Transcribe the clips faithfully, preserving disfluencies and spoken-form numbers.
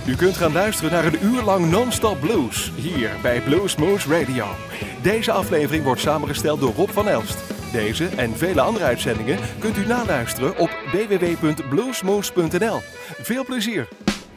U kunt gaan luisteren naar een uur lang non-stop blues, hier bij Bluesmoose Radio. Deze aflevering wordt samengesteld door Rob van Elst. Deze en vele andere uitzendingen kunt u naluisteren op w w w punt bluesmoose punt n l. Veel plezier!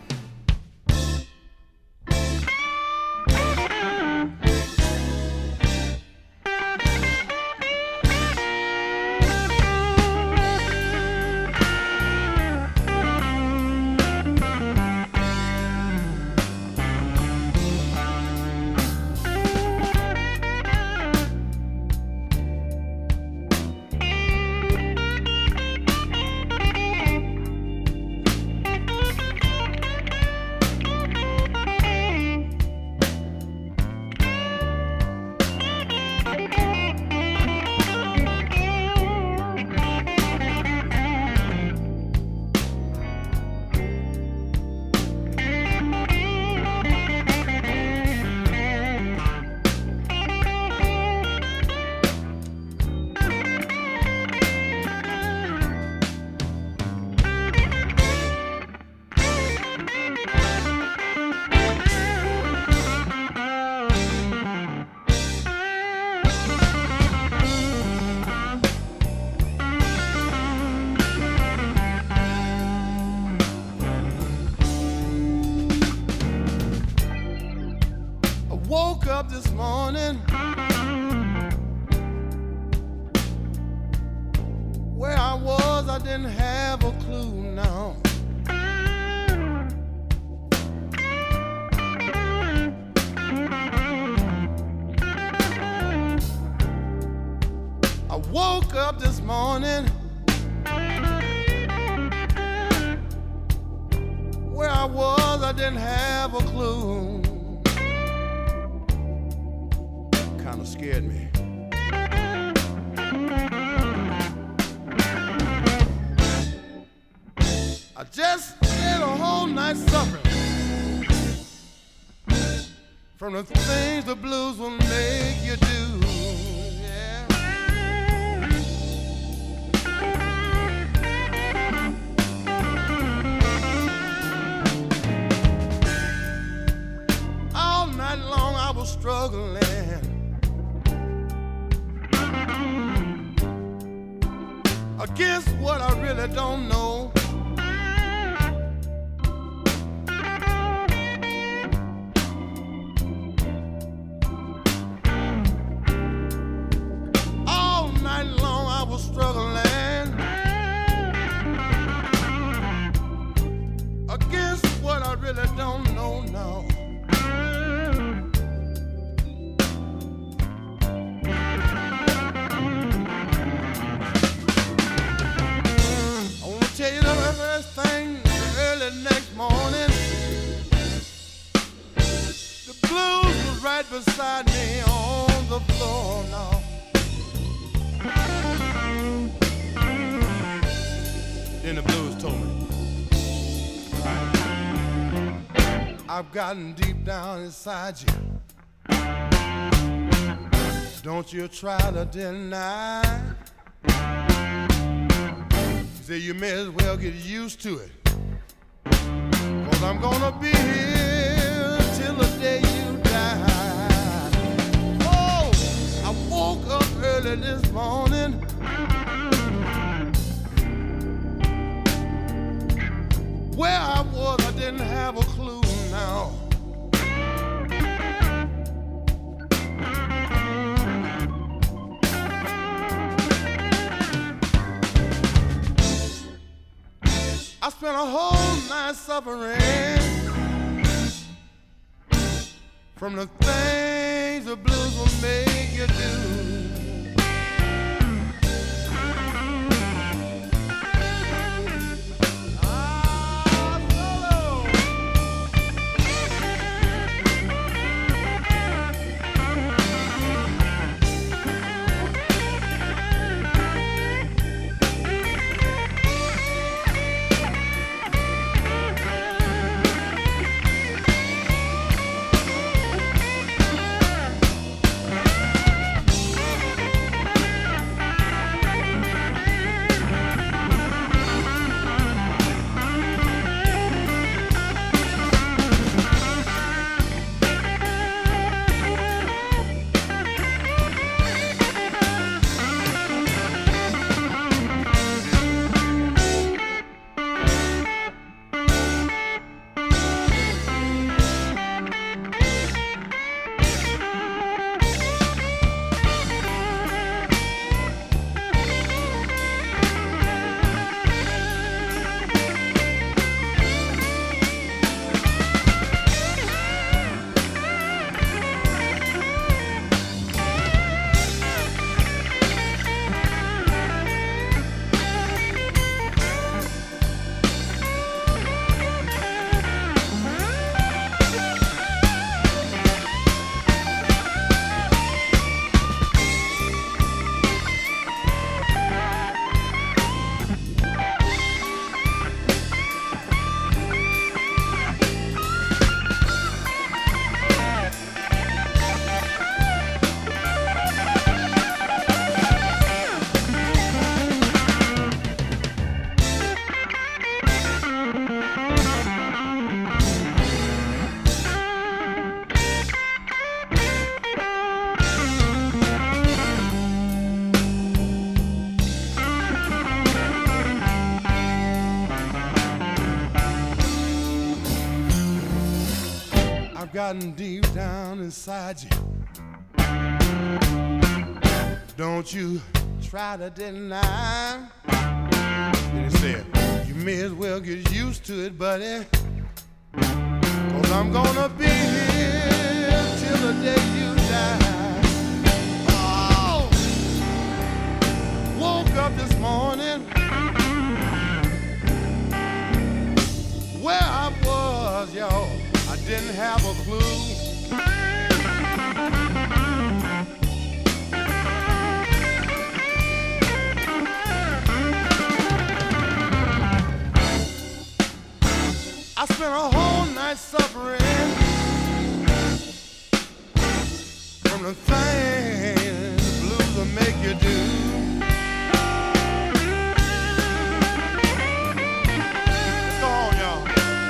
From the things the blues will make you do, yeah. All night long I was struggling against what I really don't know. Struggling against what I really don't know now. I want to tell you the first thing early next morning. The blues was right beside me on the floor now. Then the blues told me, I've gotten deep down inside you. Don't you try to deny. He said you may as well get used to it, 'cause I'm gonna be here till the day you die. Oh, I woke up early this morning. Where I was, I didn't have a clue now. I spent a whole night suffering from the things the blues will make you do. have gotten deep down inside you. Don't you try to deny. And he said, you may as well get used to it, buddy, 'cause I'm gonna be here till the day you die. Oh, woke up this morning where I was, y'all, I didn't have a clue. I spent a whole night suffering from the things the blues will make you do. Go on, y'all.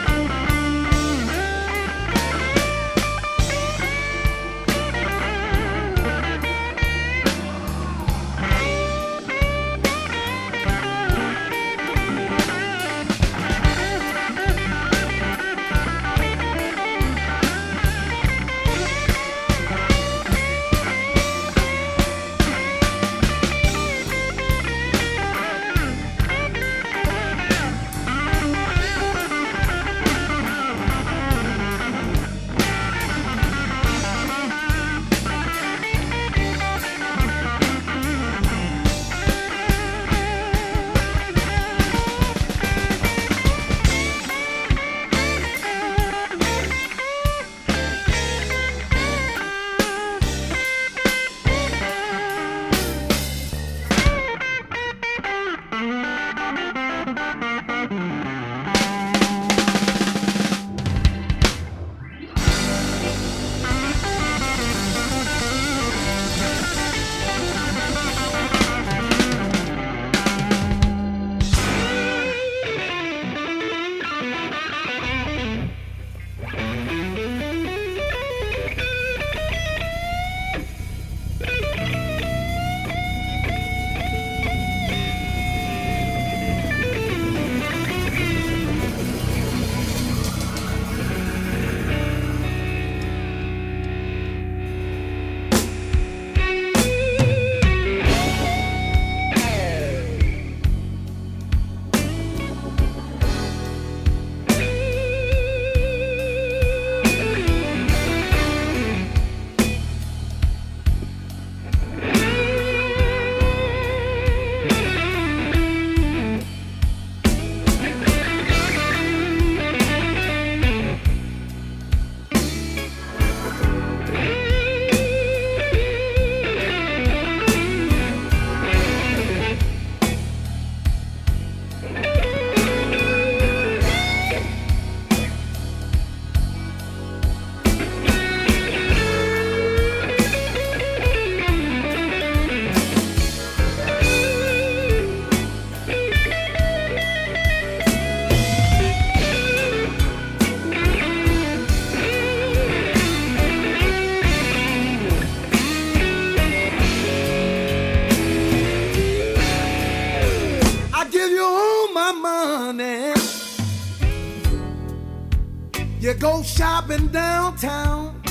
You go shopping downtown.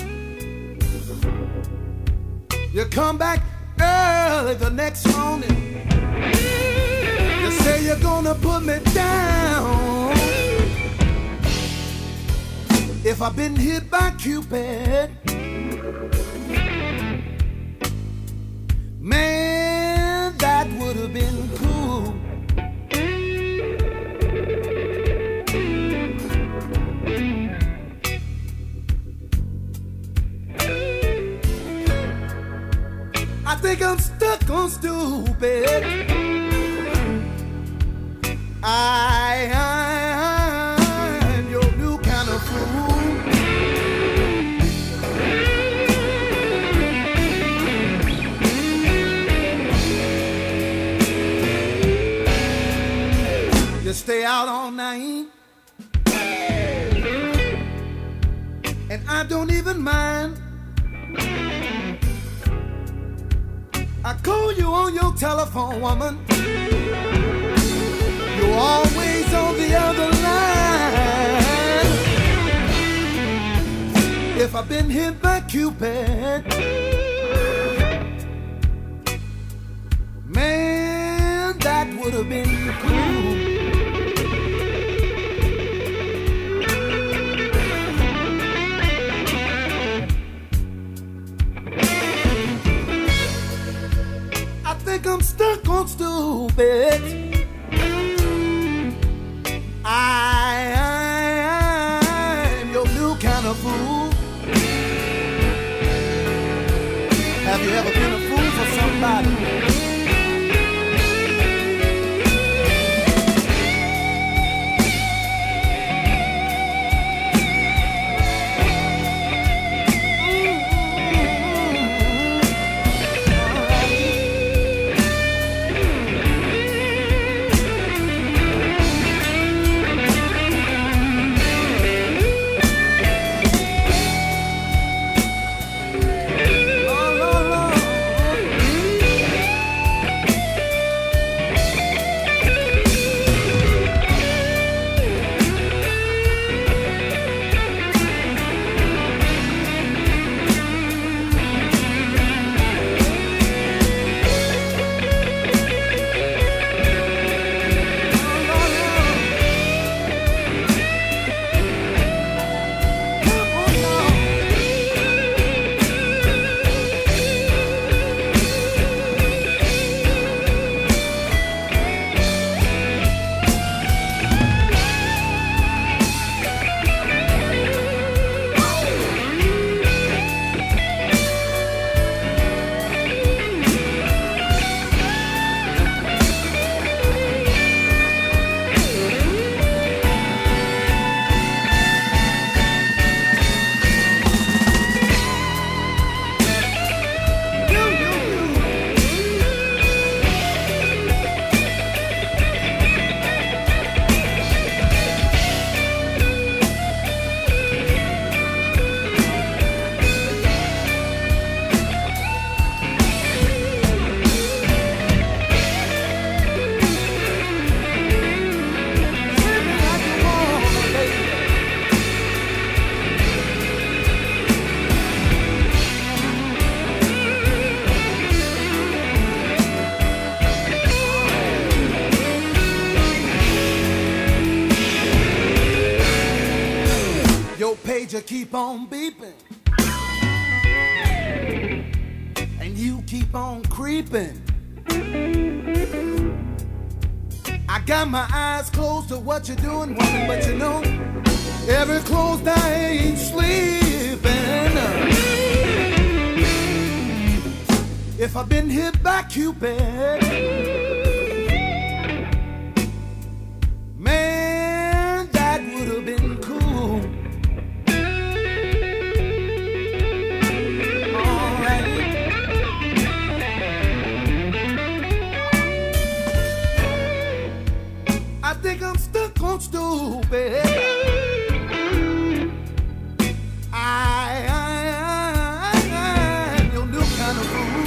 You come back early the next morning. You say you're gonna put me down. If I've been hit by Cupid, man, that would have been cool. I think I'm stuck on stupid. I, I, I'm your new kind of fool. You stay out all night, and I don't even mind. I call you on your telephone, woman. You're always on the other line. If I've been hit by Cupid, man, that would have been cool. I think I'm stuck on stupid. I, I, I'm your new kind of fool. Have you ever been a fool for somebody? You keep on beeping, and you keep on creeping. I got my eyes closed to what you're doing, woman, but you know, every closed eye ain't sleeping. If I've been hit by Cupid, man, that would have been cool. I think I'm stuck on stupid. I, I, I, I'm your new kind of fool.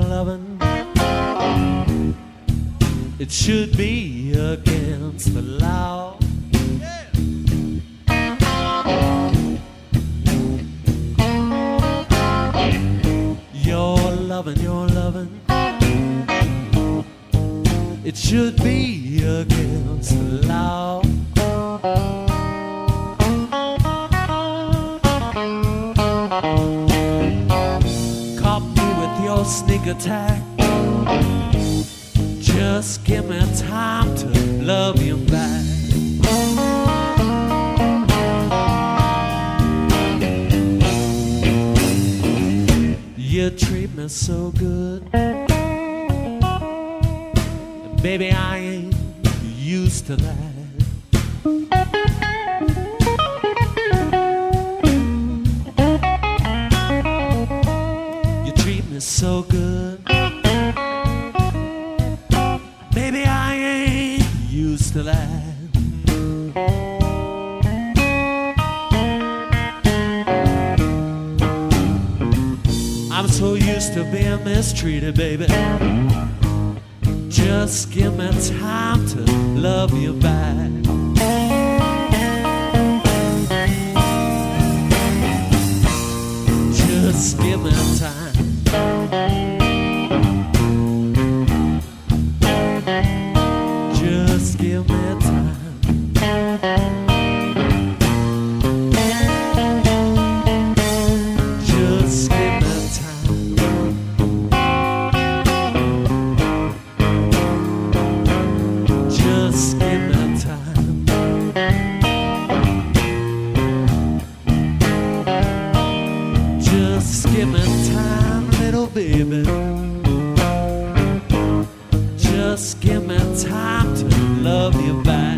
loving, it should be against the law. Your loving, your loving, it should be against the law. Caught me with your sneak attack. Just give me time to love you back. You treat me so good, baby, I ain't used to that. You treat me so good, baby, I ain't used to that. I'm so used to being mistreated, baby. Just give me time to love you back. Just give me time. Just give me time. Just give me Just give me time. Just give me time, little baby. Just give me time to love you back.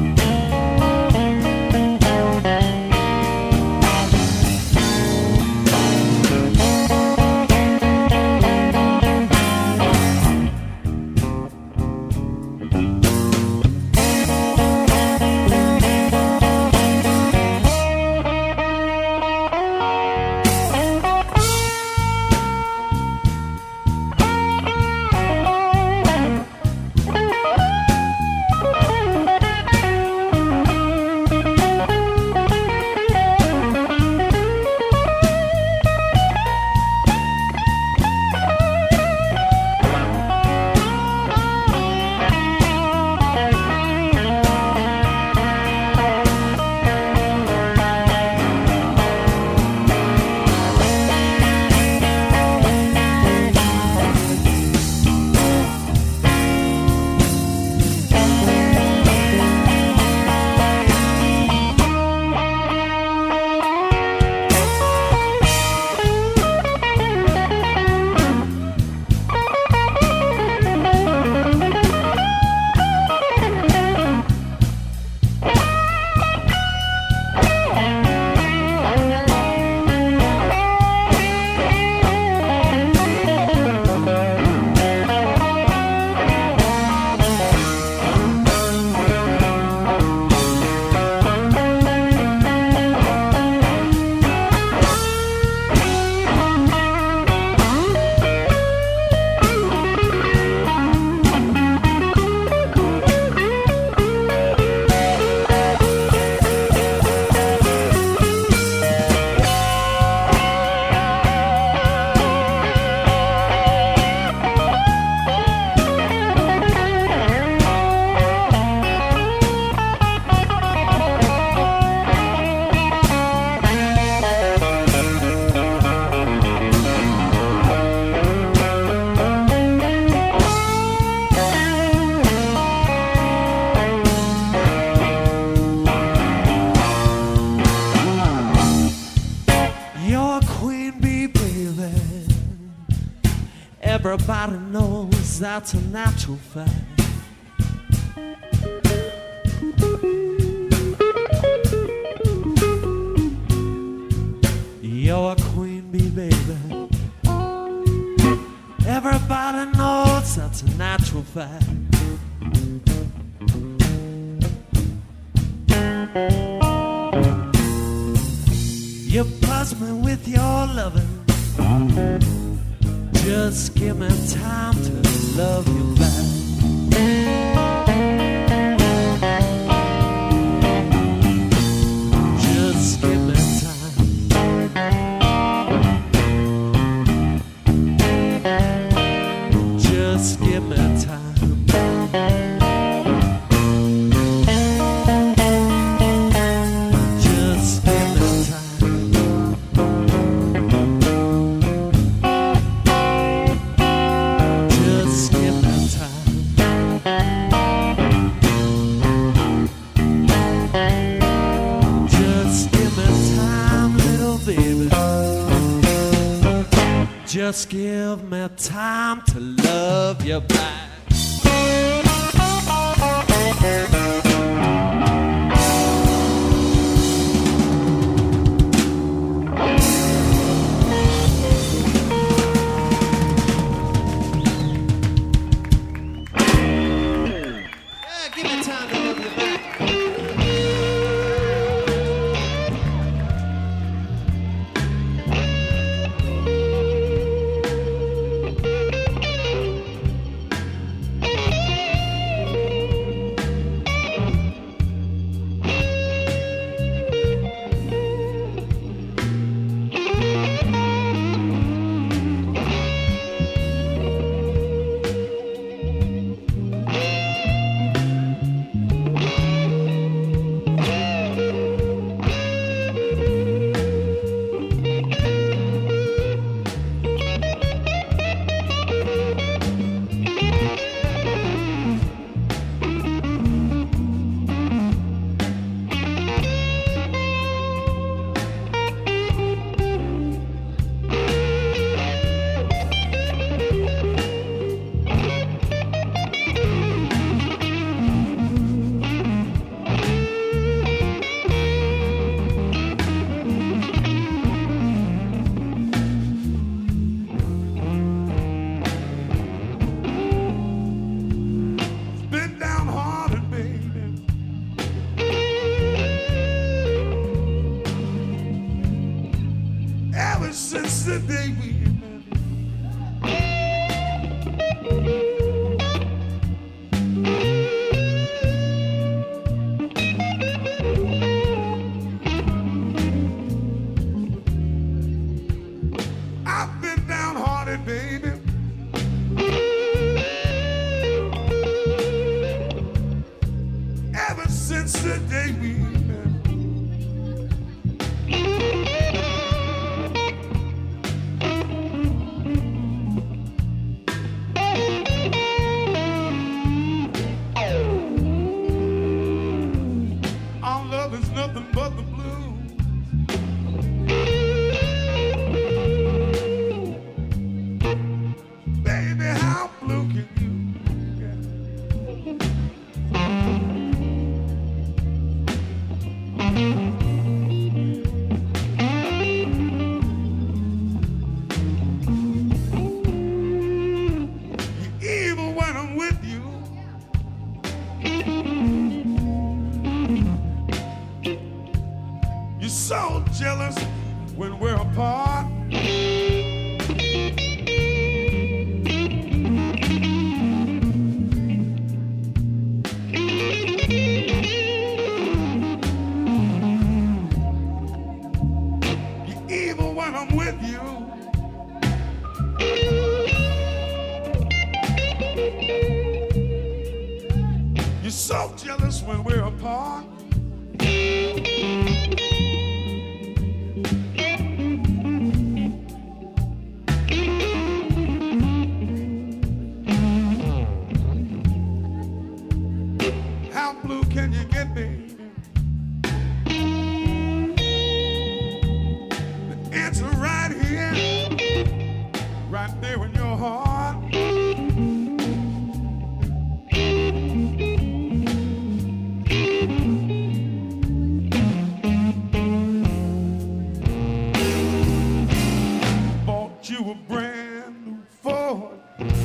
Everybody knows that's a natural fact. You're a queen bee, baby. Everybody knows that's a natural fact. You buzz me with your loving, Just give me time to love you back. Just give me time. Just give me time. Just give me time to love you back. Yeah, give me time to love you back. Since the day we I've been downhearted, baby. Ever since the day we nothing but the blues. Baby, how blue can you get? You're evil when I'm with you. You're so jealous when we're apart. You're evil when I'm with you. You're so jealous when we're apart. How blue can you get, baby? The answer right here, right there in your heart. Bought you a brand new Ford.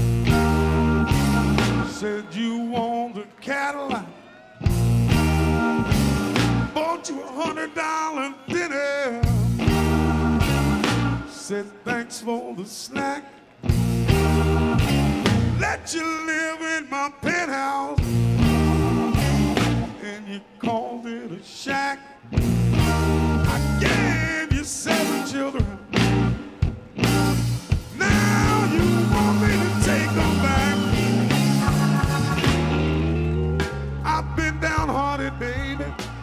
Said you want a Cadillac. Bought you a hundred dollar dinner. Said thanks for the snack. let you live in my penthouse, and you called it a shack. I gave you seven children. Now you want me to take them back. I've been downhearted, baby.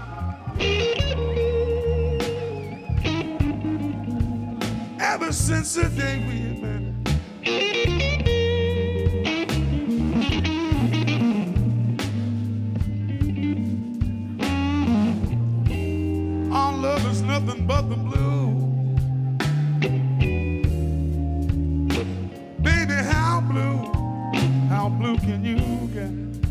Ever since the day we met. Our love is nothing but the blue. Baby, how blue, how blue can you get?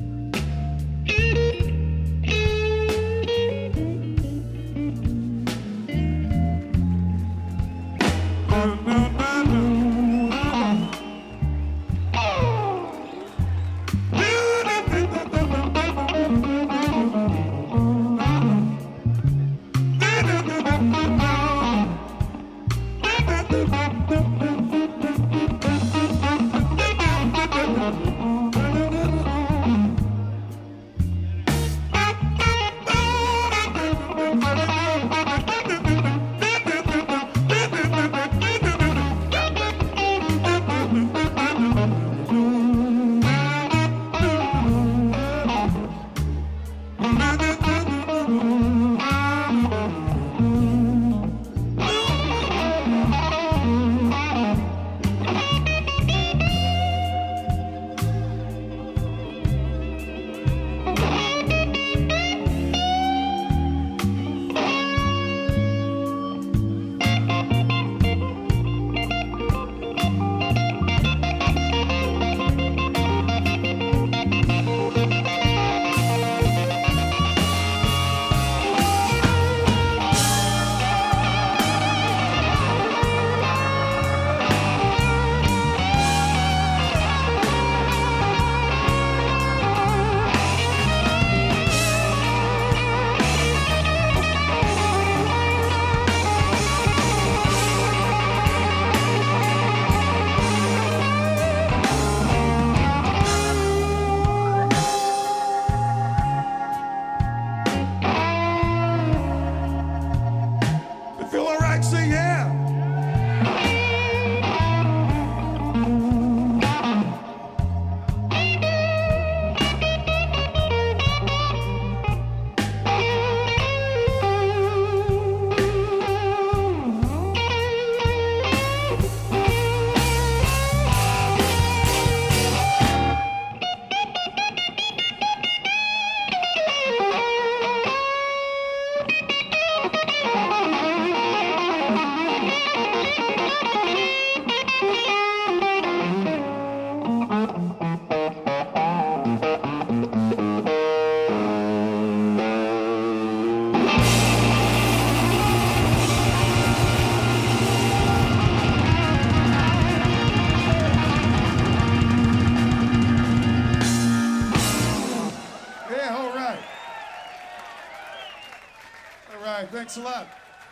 Thanks a lot.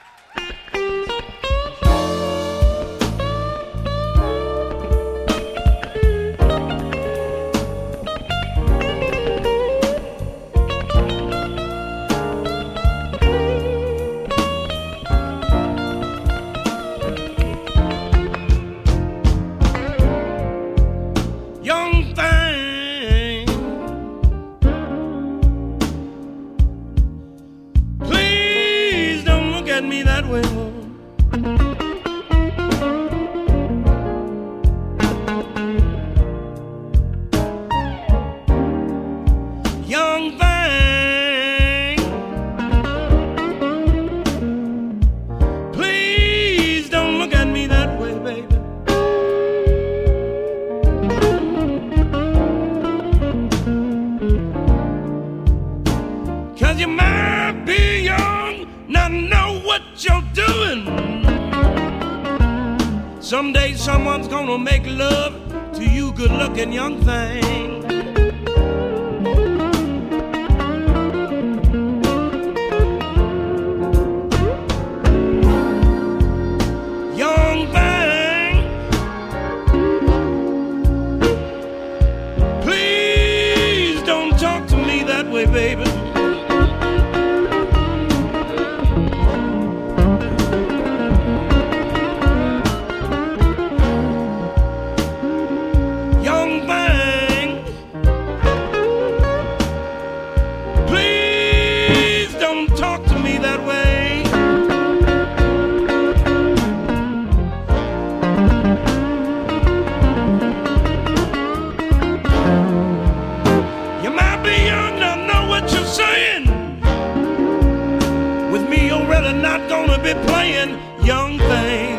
Someday someone's gonna make love to you good-looking young thing. Young thing, way, baby. Young thing, please don't talk to me that way. You might be young, don't know what you're saying. With me, you're really not gonna be playing, young thing.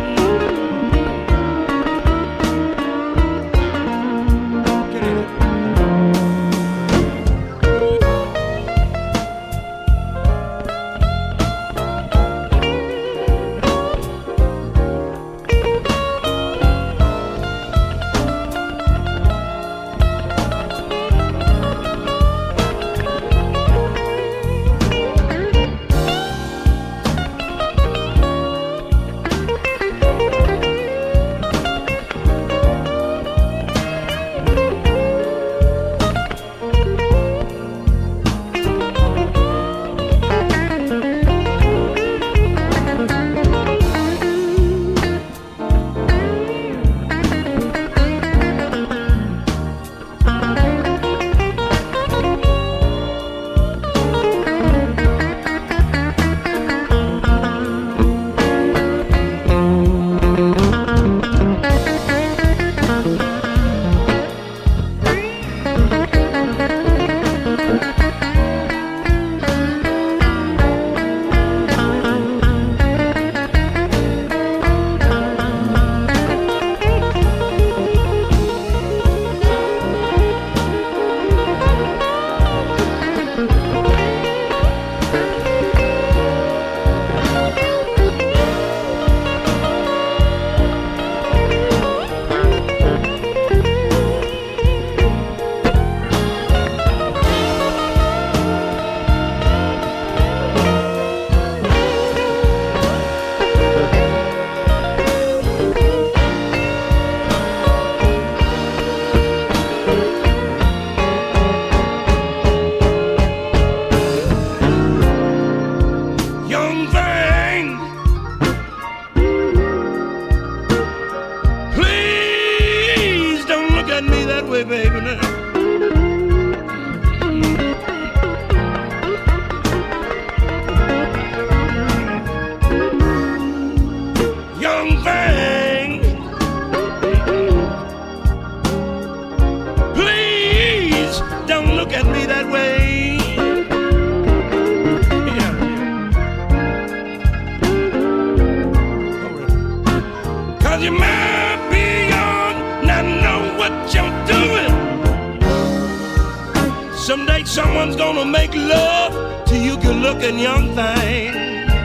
Someone's gonna make love to you good-looking young thing.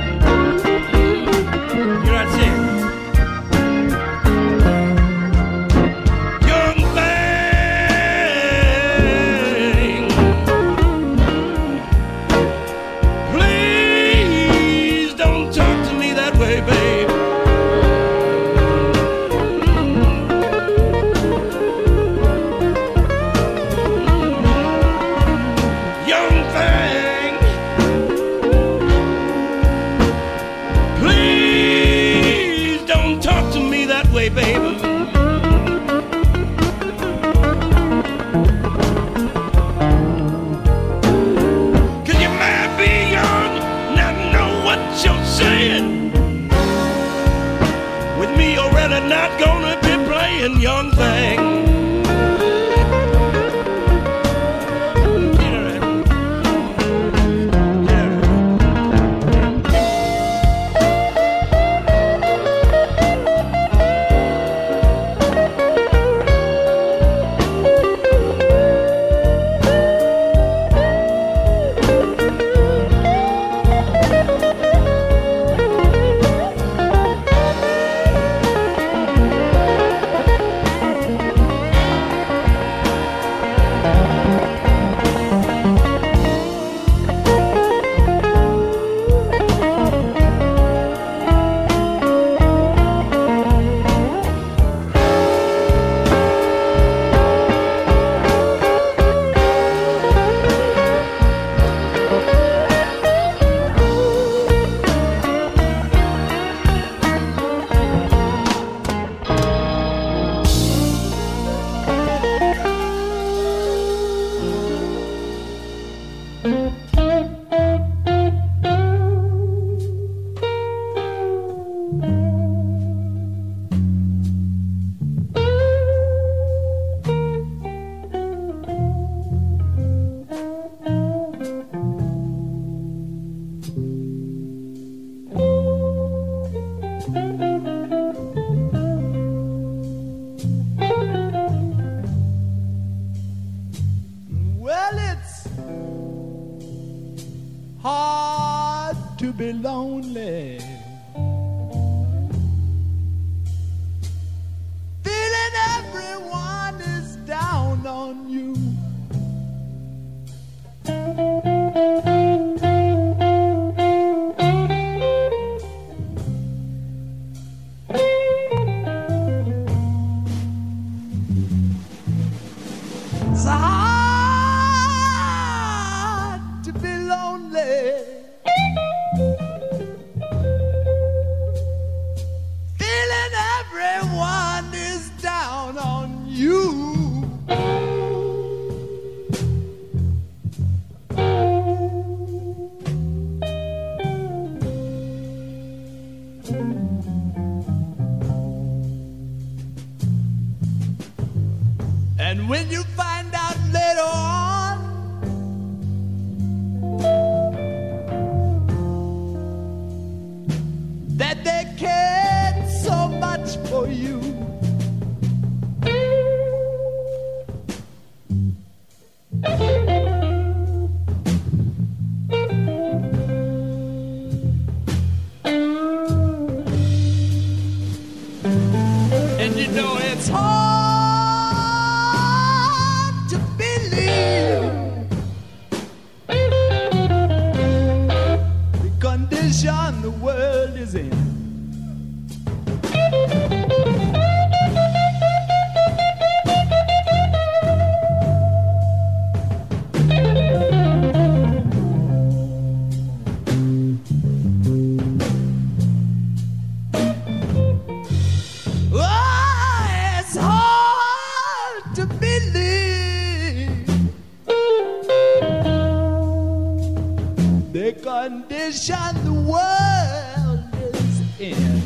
You know what I'm saying? Young thing, please don't talk to me that way, babe. Young thing, hard to be lonely. Feeling everyone is down on you. It's hard to be lonely. Feeling everyone is down on you. And when you find out later on that they cared so much for you, and you know it's hard to believe the condition the world is in. Oh, it's hard to believe the condition the world is in.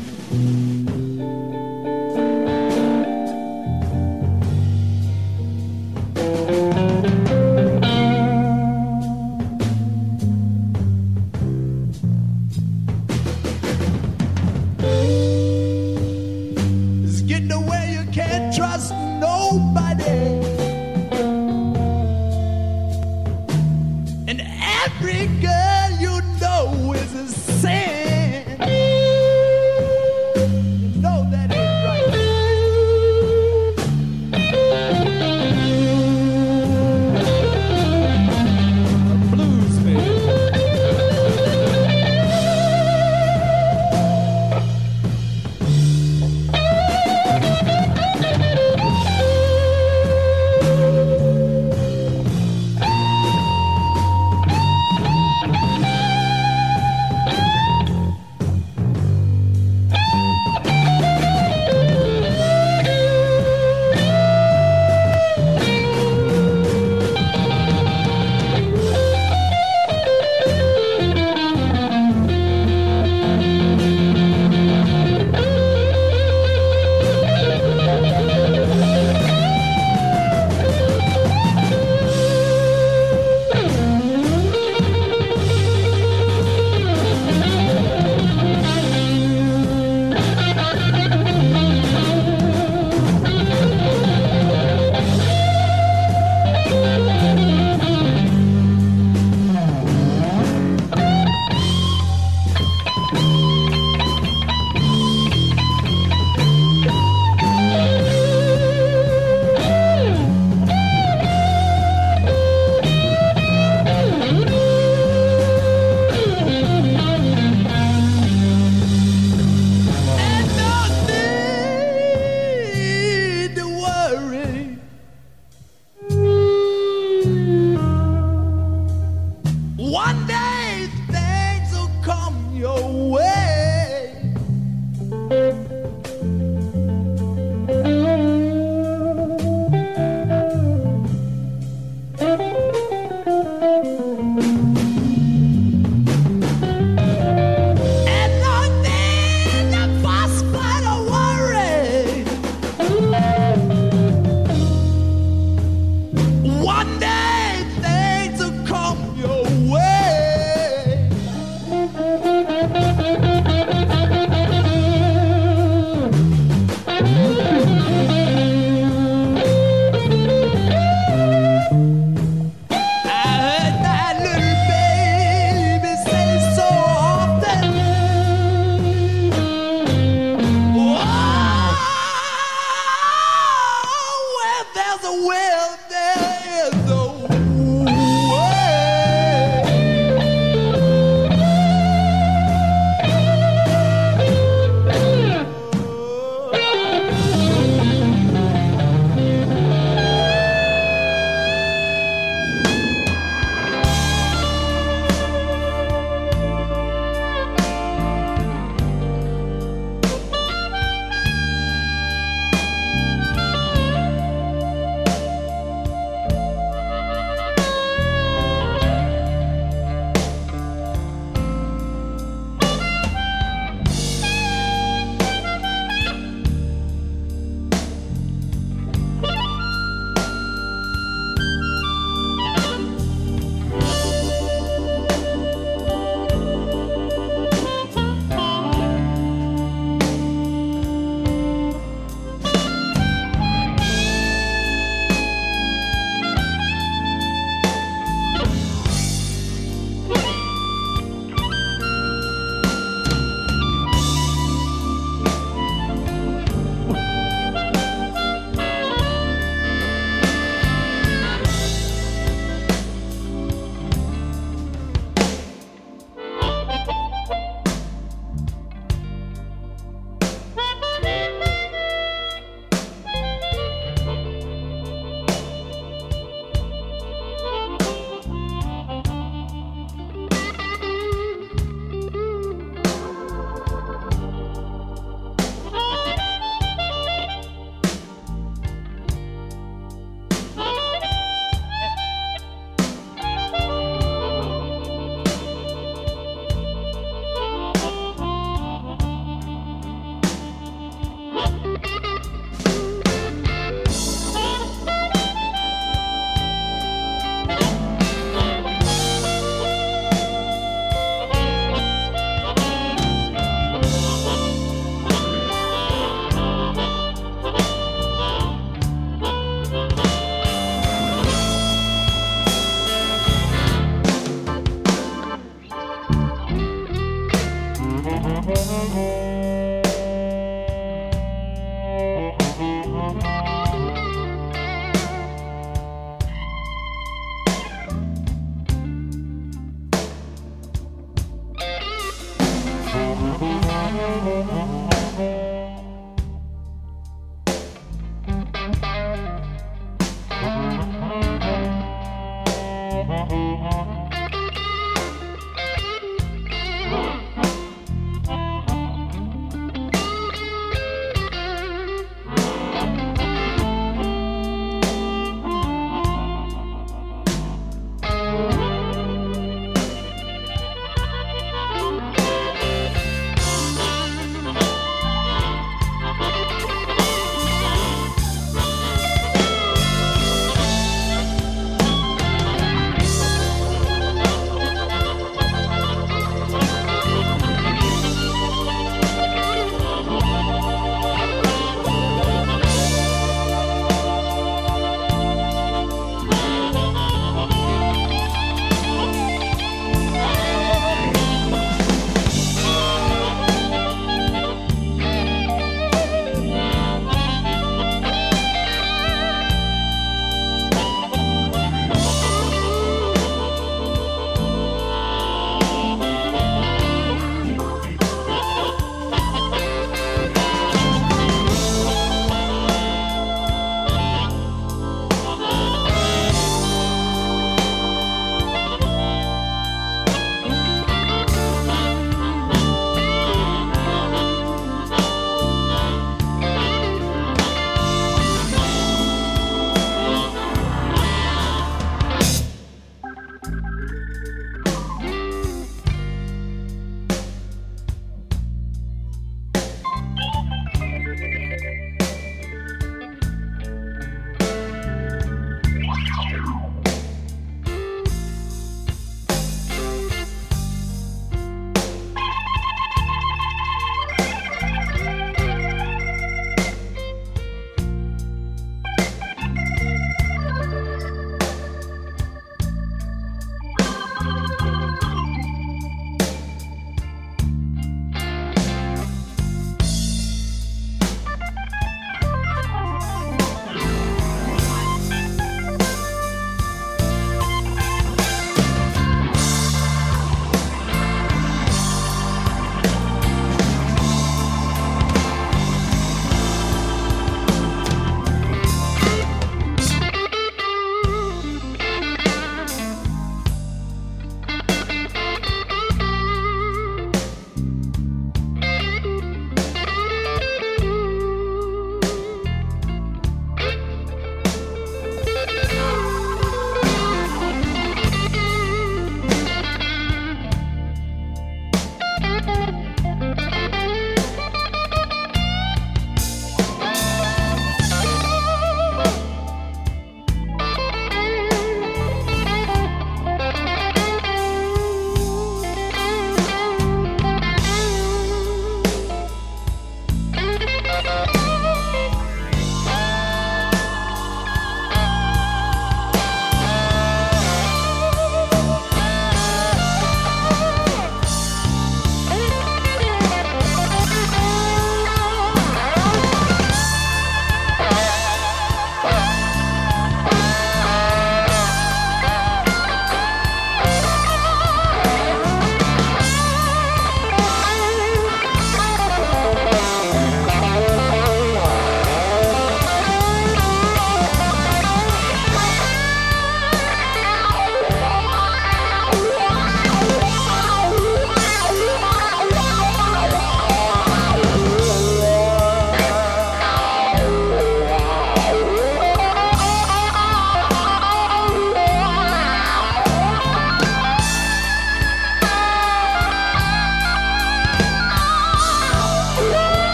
It's getting away, you can't trust nobody. And every girl you know is a sin.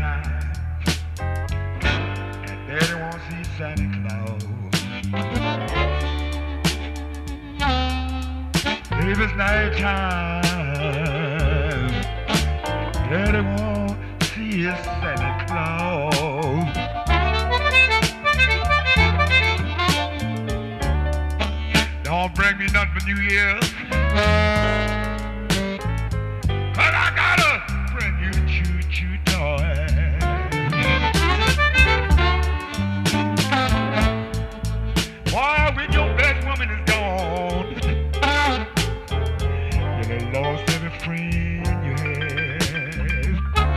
night, and Daddy won't see Santa Claus. If it's night time, Daddy won't see his Santa Claus. Don't bring me nothing for New Year's, 'cause I gotta bring you choo-choo toy. Boy, when your best woman is gone, you done lost every friend you had.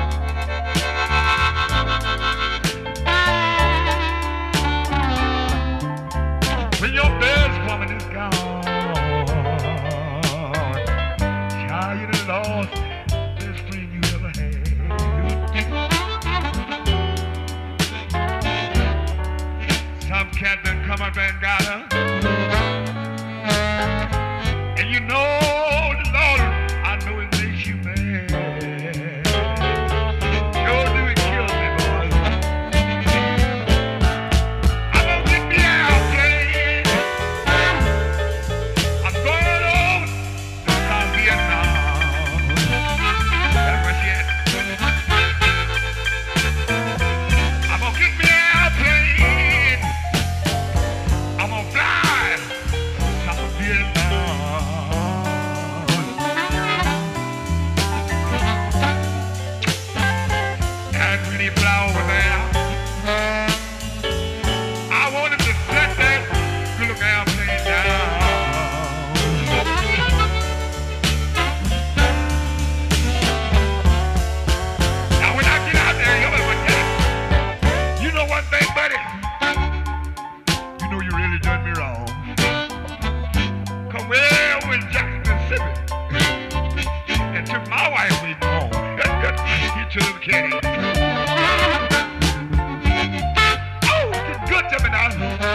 When your best woman is gone, child, you done lost the best friend you ever had. Some cat done come up and got her, and you know the Lord, I know it makes you mad. Sure do, it kills me, boy. I'm gonna get me out, kid. I'm going over to South Vietnam. That's what she is. I'm gonna get me an airplane. I'm gonna fly to South Vietnam. And when he fly over there, I want him to set that little airplane down. Now when I get out there, you'll ever get it. You know one thing, buddy? You know you really done me wrong. Come way over in Jackson, Mississippi, and took my wife with me home. You took Kenny. Oh, it's good to me now.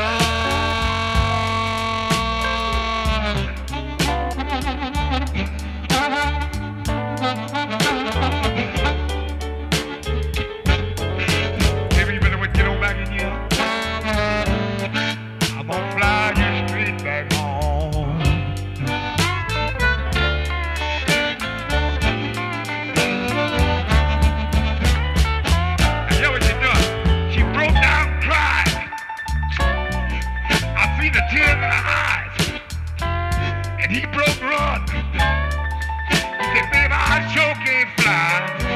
Maybe you better get on back in here. I'm gonna fly you straight back home. And you know what she done? She broke down and cried. I seen the tears in her eyes. And he broke run. He said, baby, I sure can't fly.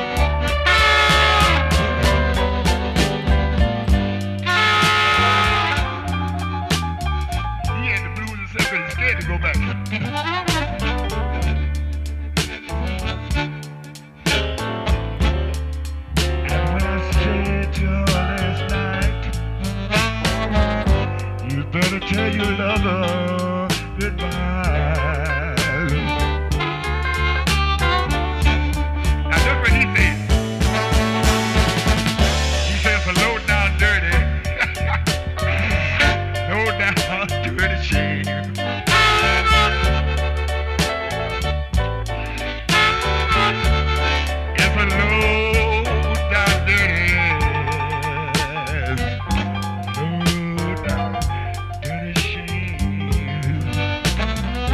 He had the blues himself and he's scared to go back. And when I said to her last night, you better tell your lover goodbye. Now look what he said. He said for low down dirty, low down dirty shame. It's a low down dirty, low down dirty shame.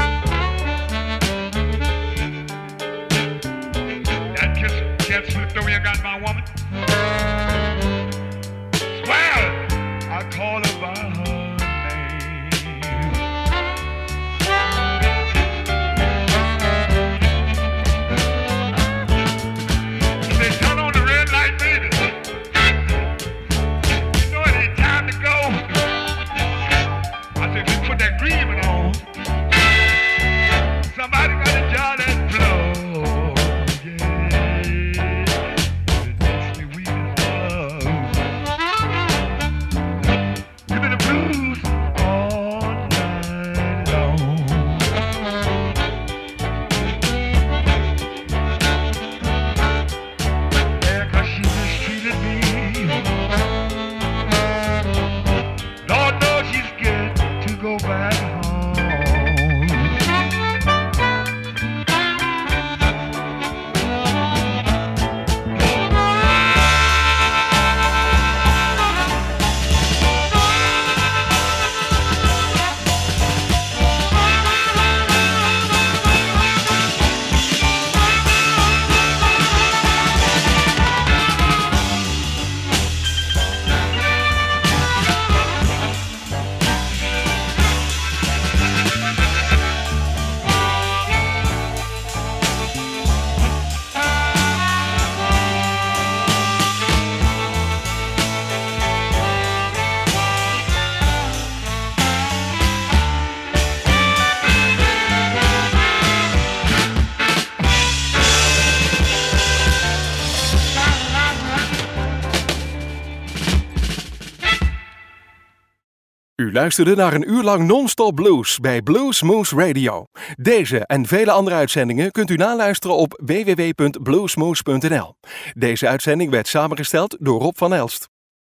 U luisterde naar een uur lang non-stop blues bij Blues Moose Radio. Deze en vele andere uitzendingen kunt u naluisteren op w w w punt bluesmoose punt n l. Deze uitzending werd samengesteld door Rob van Elst.